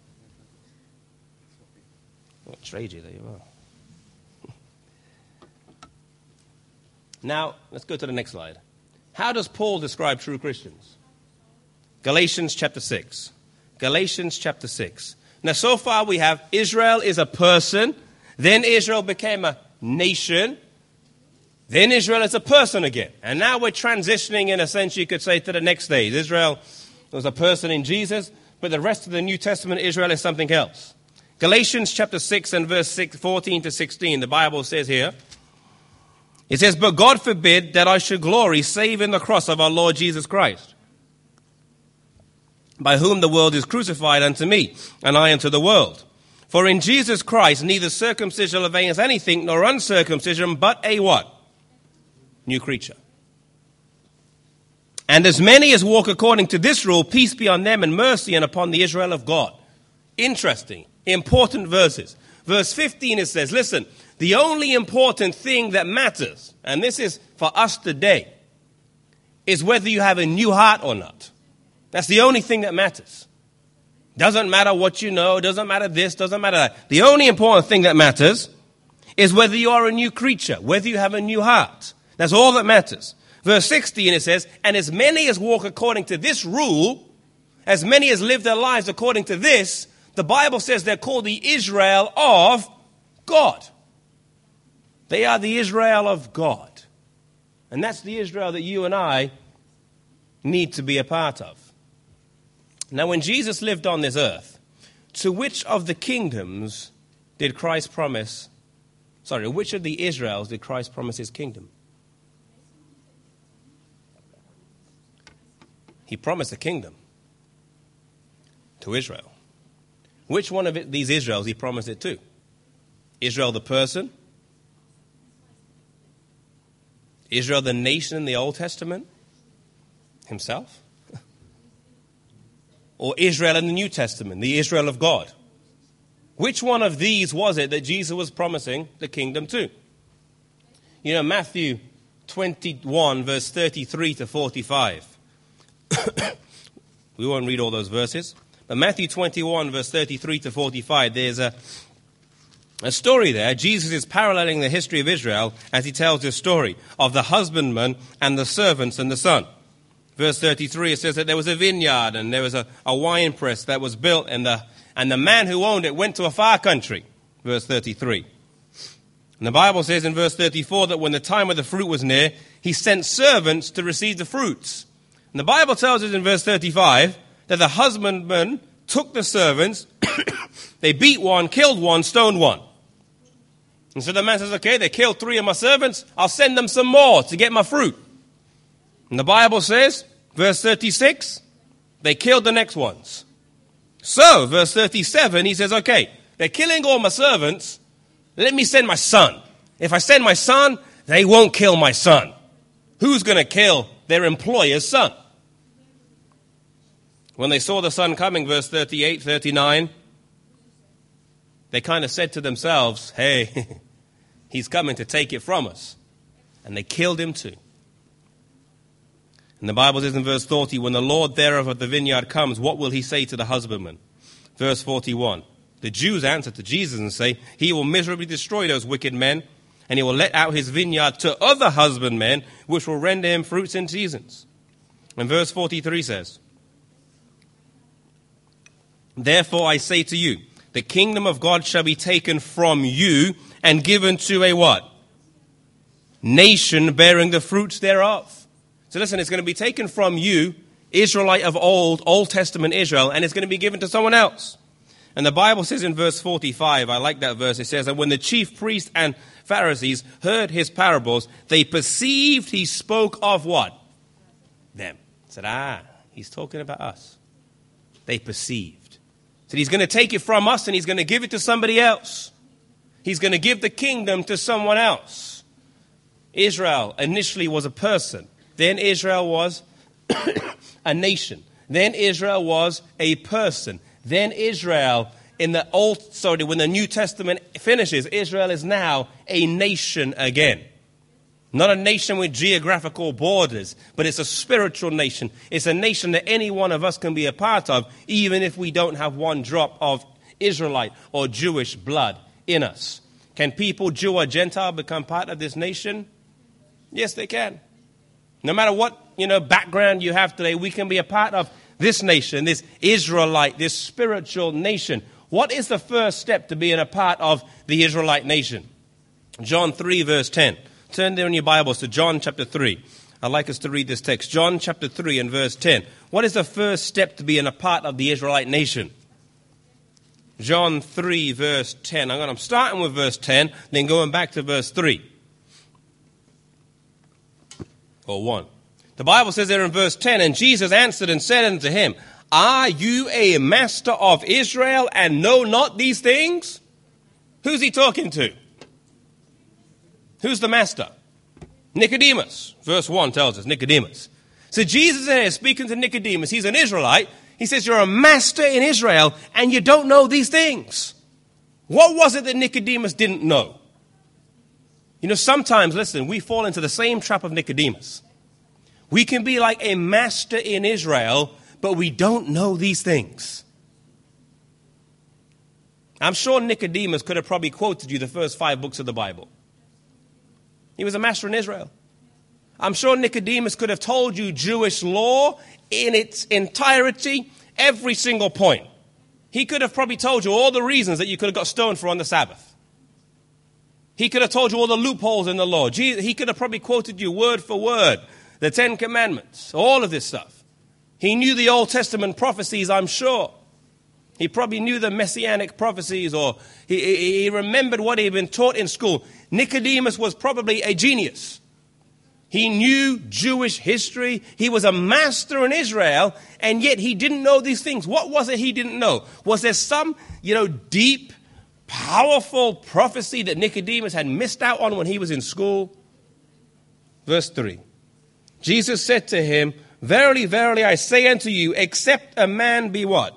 I'll trade you, there you are. Now, let's go to the next slide. How does Paul describe true Christians? Galatians chapter 6. Galatians chapter 6. Now, so far we have Israel is a person, then Israel became a nation, then Israel is a person again. And now we're transitioning, in a sense, you could say, to the next stage. Israel was a person in Jesus, but the rest of the New Testament, Israel is something else. Galatians chapter 6 and verse 14 to 16, the Bible says here, it says, but God forbid that I should glory save in the cross of our Lord Jesus Christ, by whom the world is crucified unto me, and I unto the world. For in Jesus Christ neither circumcision avails anything, nor uncircumcision, but a what? New creature. And as many as walk according to this rule, peace be on them and mercy and upon the Israel of God. Interesting, important verses. Verse 15 it says, listen, the only important thing that matters, and this is for us today, is whether you have a new heart or not. That's the only thing that matters. Doesn't matter what you know, doesn't matter this, doesn't matter that. The only important thing that matters is whether you are a new creature, whether you have a new heart. That's all that matters. Verse 16 it says, and as many as walk according to this rule, as many as live their lives according to this, the Bible says they're called the Israel of God. They are the Israel of God. And that's the Israel that you and I need to be a part of. Now, when Jesus lived on this earth, to which of the kingdoms did Christ promise, which of the Israels did Christ promise his kingdom? He promised a kingdom to Israel. Which one of these Israels he promised it to? Israel the person? Israel the nation in the Old Testament? Himself? Or Israel in the New Testament, the Israel of God? Which one of these was it that Jesus was promising the kingdom to? Matthew 21, verse 33 to 45. We won't read all those verses. But Matthew 21, verse 33 to 45, there's a story there. Jesus is paralleling the history of Israel as he tells this story of the husbandman and the servants and the son. Verse 33, it says that there was a vineyard and there was a wine press that was built, and the man who owned it went to a far country. Verse 33. And the Bible says in verse 34 that when the time of the fruit was near, he sent servants to receive the fruits. And the Bible tells us in verse 35 that the husbandman took the servants, they beat one, killed one, stoned one. And so the man says, okay, they killed 3 of my servants, I'll send them some more to get my fruit. And the Bible says, verse 36, they killed the next ones. So, verse 37, he says, okay, they're killing all my servants, let me send my son. If I send my son, they won't kill my son. Who's going to kill their employer's son? When they saw the son coming, verse 38, 39, they kind of said to themselves, hey, he's coming to take it from us. And they killed him too. And the Bible says in verse 40, when the Lord thereof of the vineyard comes, what will he say to the husbandman? Verse 41, the Jews answer to Jesus and say, he will miserably destroy those wicked men, and he will let out his vineyard to other husbandmen, which will render him fruits in seasons. And verse 43 says, therefore I say to you, the kingdom of God shall be taken from you and given to a what? Nation bearing the fruits thereof. So listen, it's going to be taken from you, Israelite of Old Testament Israel, and it's going to be given to someone else. And the Bible says in verse 45, I like that verse, it says, and when the chief priests and Pharisees heard his parables, they perceived he spoke of what? Them. Said, he's talking about us. They perceived. So he's going to take it from us and he's going to give it to somebody else. He's going to give the kingdom to someone else. Israel initially was a person. Then Israel was a nation. Then Israel was a person. Then Israel, when the New Testament finishes, Israel is now a nation again. Not a nation with geographical borders, but it's a spiritual nation. It's a nation that any one of us can be a part of, even if we don't have one drop of Israelite or Jewish blood in us. Can people, Jew or Gentile, become part of this nation? Yes, they can. No matter what, background you have today, we can be a part of this nation, this Israelite, this spiritual nation. What is the first step to being a part of the Israelite nation? John 3, verse 10. Turn there in your Bibles to John chapter 3. I'd like us to read this text. John chapter 3 and verse 10. What is the first step to being a part of the Israelite nation? John 3, verse 10. I'm starting with verse 10, then going back to verse 3. Or 1. The Bible says there in verse 10, and Jesus answered and said unto him, are you a master of Israel and know not these things? Who's he talking to? Who's the master? Nicodemus. Verse 1 tells us, Nicodemus. So Jesus is speaking to Nicodemus. He's an Israelite. He says, you're a master in Israel and you don't know these things. What was it that Nicodemus didn't know? Sometimes, listen, we fall into the same trap of Nicodemus. We can be like a master in Israel, but we don't know these things. I'm sure Nicodemus could have probably quoted you the first 5 books of the Bible. He was a master in Israel. I'm sure Nicodemus could have told you Jewish law in its entirety, every single point. He could have probably told you all the reasons that you could have got stoned for on the Sabbath. He could have told you all the loopholes in the law. He could have probably quoted you word for word the 10 Commandments, all of this stuff. He knew the Old Testament prophecies, I'm sure. He probably knew the messianic prophecies, or he remembered what he had been taught in school. Nicodemus was probably a genius. He knew Jewish history. He was a master in Israel, and yet he didn't know these things. What was it he didn't know? Was there some, deep, powerful prophecy that Nicodemus had missed out on when he was in school? Verse 3. Jesus said to him, verily, verily, I say unto you, except a man be what?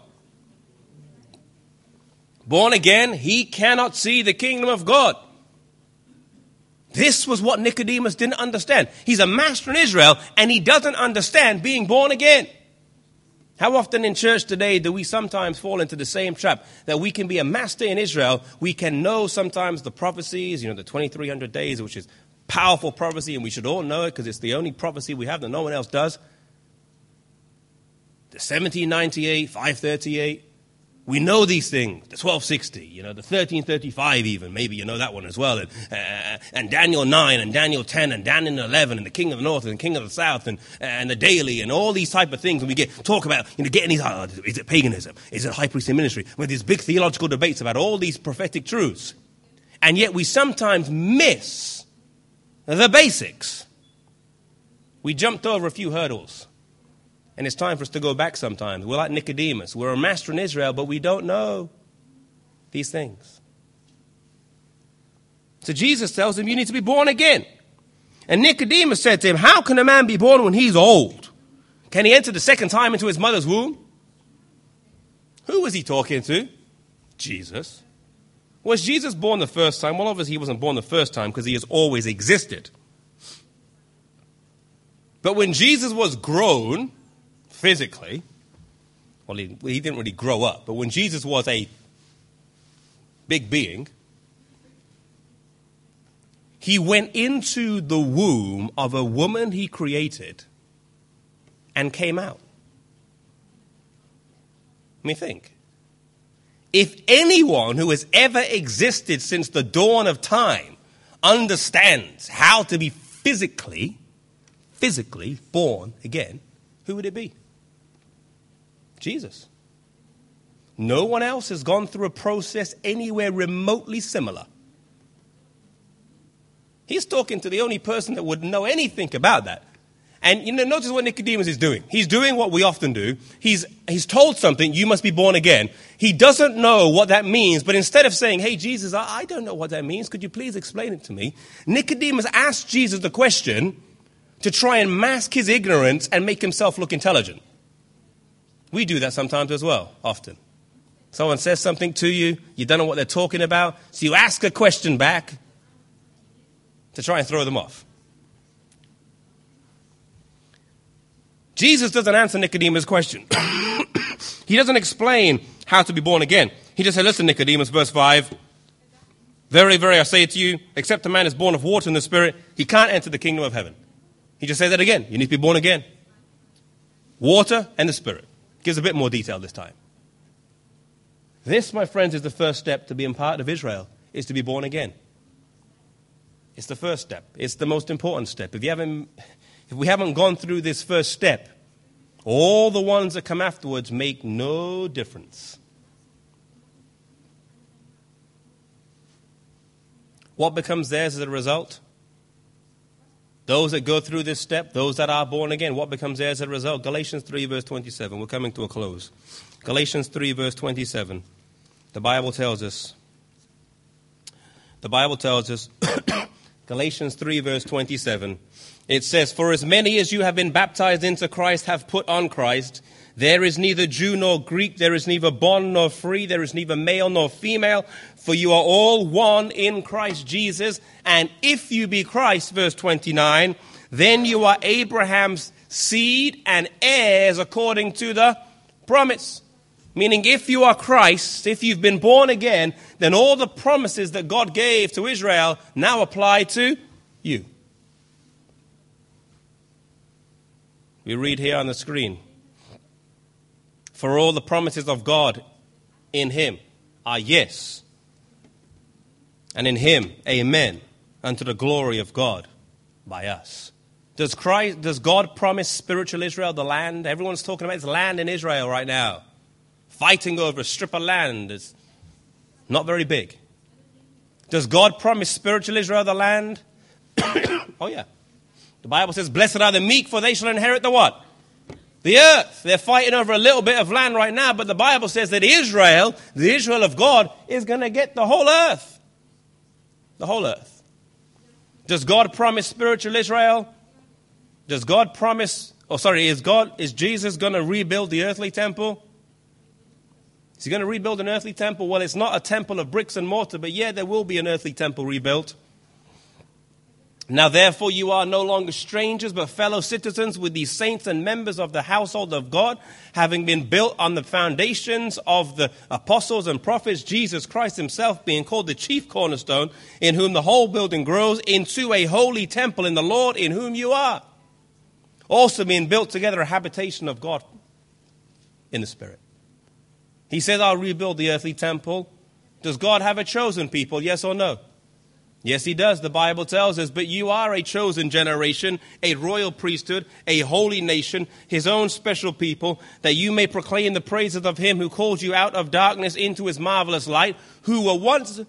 Born again, he cannot see the kingdom of God. This was what Nicodemus didn't understand. He's a master in Israel, and he doesn't understand being born again. How often in church today do we sometimes fall into the same trap that we can be a master in Israel? We can know sometimes the prophecies, the 2300 days, which is powerful prophecy, and we should all know it because it's the only prophecy we have that no one else does. The 1798, 538. We know these things, the 1260, the 1335 even, maybe you know that one as well, and Daniel 9 and Daniel 10 and Daniel 11 and the King of the North and the King of the South and the Daily and all these type of things. And we talk about, getting these, is it paganism? Is it high priestly ministry? With these big theological debates about all these prophetic truths. And yet we sometimes miss the basics. We jumped over a few hurdles. And it's time for us to go back sometimes. We're like Nicodemus. We're a master in Israel, but we don't know these things. So Jesus tells him, you need to be born again. And Nicodemus said to him, how can a man be born when he's old? Can he enter the second time into his mother's womb? Who was he talking to? Jesus. Was Jesus born the first time? Well, obviously he wasn't born the first time because he has always existed. But when Jesus was grown physically, well, he didn't really grow up, but when Jesus was a big being, he went into the womb of a woman he created and came out. Let me think. If anyone who has ever existed since the dawn of time understands how to be physically born again, who would it be? Jesus. No one else has gone through a process anywhere remotely similar. He's talking to the only person that would know anything about that. And notice what Nicodemus is doing. He's doing what we often do. He's told something, you must be born again. He doesn't know what that means, but instead of saying, hey, Jesus, I don't know what that means. Could you please explain it to me? Nicodemus asked Jesus the question to try and mask his ignorance and make himself look intelligent. We do that sometimes as well, often. Someone says something to you, you don't know what they're talking about, so you ask a question back to try and throw them off. Jesus doesn't answer Nicodemus' question. He doesn't explain how to be born again. He just said, listen, Nicodemus, verse 5, very, very, I say to you, except a man is born of water and the Spirit, he can't enter the kingdom of heaven. He just says that again. You need to be born again. Water and the Spirit. Gives a bit more detail this time. This, my friends, is the first step to being part of Israel, is to be born again. It's the first step. It's the most important step. If we haven't gone through this first step, all the ones that come afterwards make no difference. What becomes theirs as a result? Those that go through this step, those that are born again, what becomes theirs as a result? Galatians 3, verse 27. We're coming to a close. Galatians 3, verse 27. The Bible tells us, Galatians 3, verse 27, it says, for as many as you have been baptized into Christ have put on Christ. There is neither Jew nor Greek, there is neither bond nor free, there is neither male nor female, for you are all one in Christ Jesus. And if you be Christ, verse 29, then you are Abraham's seed and heirs according to the promise. Meaning if you are Christ, if you've been born again, then all the promises that God gave to Israel now apply to you. We read here on the screen, for all the promises of God in him are yes, and in him, amen, unto the glory of God by us. Does God promise spiritual Israel the land? Everyone's talking about this land in Israel right now. Fighting over a strip of land is not very big. Does God promise spiritual Israel the land? Oh yeah. The Bible says, blessed are the meek, for they shall inherit the what? The earth. They're fighting over a little bit of land right now, but the Bible says that Israel, the Israel of God, is going to get the whole earth. The whole earth. Does God promise spiritual Israel? Does God promise, is Jesus going to rebuild the earthly temple? Is he going to rebuild an earthly temple? Well, it's not a temple of bricks and mortar, but yeah, there will be an earthly temple rebuilt. Now, therefore, you are no longer strangers, but fellow citizens with these saints and members of the household of God, having been built on the foundations of the apostles and prophets, Jesus Christ himself being called the chief cornerstone, in whom the whole building grows into a holy temple in the Lord, in whom you are also being built together a habitation of God in the Spirit. He says, I'll rebuild the earthly temple. Does God have a chosen people? Yes or no? Yes, he does. The Bible tells us, but you are a chosen generation, a royal priesthood, a holy nation, his own special people, that you may proclaim the praises of him who called you out of darkness into his marvelous light, who were once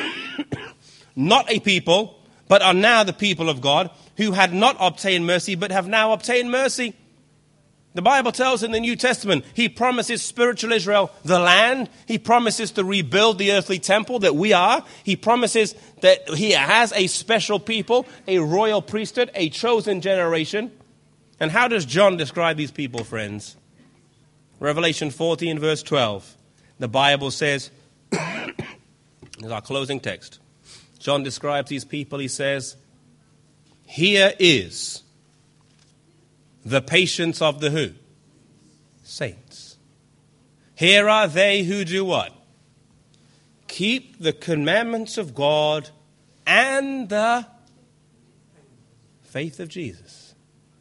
not a people, but are now the people of God, who had not obtained mercy, but have now obtained mercy. The Bible tells in the New Testament, he promises spiritual Israel the land. He promises to rebuild the earthly temple that we are. He promises that he has a special people, a royal priesthood, a chosen generation. And how does John describe these people, friends? Revelation 14, verse 12. The Bible says, this is our closing text. John describes these people, he says, here is the patience of the who? Saints. Here are they who do what? Keep the commandments of God and the faith of Jesus.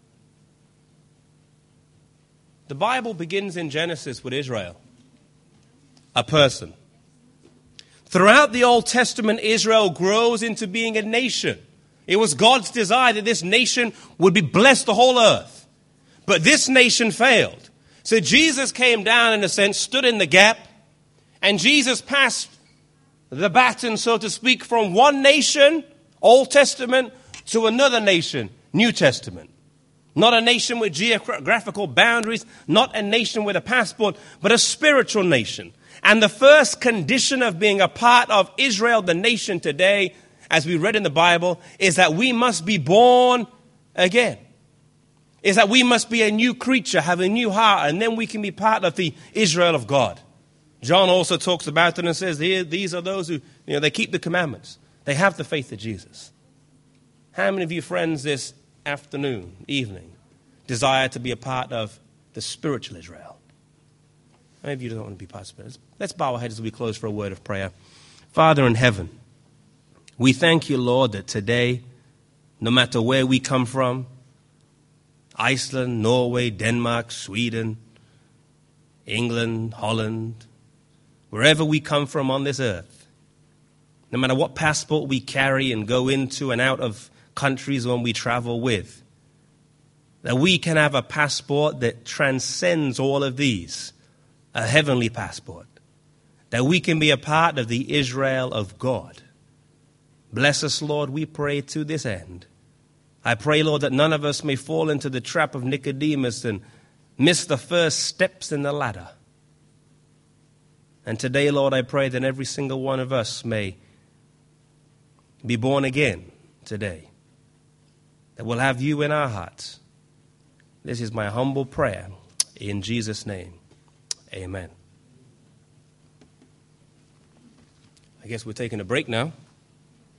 The Bible begins in Genesis with Israel, a person. Throughout the Old Testament, Israel grows into being a nation. It was God's desire that this nation would be blessed the whole earth. But this nation failed. So Jesus came down, in a sense, stood in the gap, and Jesus passed the baton, so to speak, from one nation, Old Testament, to another nation, New Testament. Not a nation with geographical boundaries, not a nation with a passport, but a spiritual nation. And the first condition of being a part of Israel, the nation today, as we read in the Bible, is that we must be born again. Is that we must be a new creature, have a new heart, and then we can be part of the Israel of God. John also talks about it and says, here, these are those who, they keep the commandments. They have the faith of Jesus. How many of you friends this afternoon, evening, desire to be a part of the spiritual Israel? Many of you don't want to be part of it. Let's bow our heads as we close for a word of prayer. Father in heaven, we thank you, Lord, that today, no matter where we come from, Iceland, Norway, Denmark, Sweden, England, Holland, wherever we come from on this earth, no matter what passport we carry and go into and out of countries when we travel with, that we can have a passport that transcends all of these, a heavenly passport, that we can be a part of the Israel of God. Bless us, Lord, we pray to this end. I pray, Lord, that none of us may fall into the trap of Nicodemus and miss the first steps in the ladder. And today, Lord, I pray that every single one of us may be born again today, that we'll have you in our hearts. This is my humble prayer in Jesus' name. Amen. I guess we're taking a break now.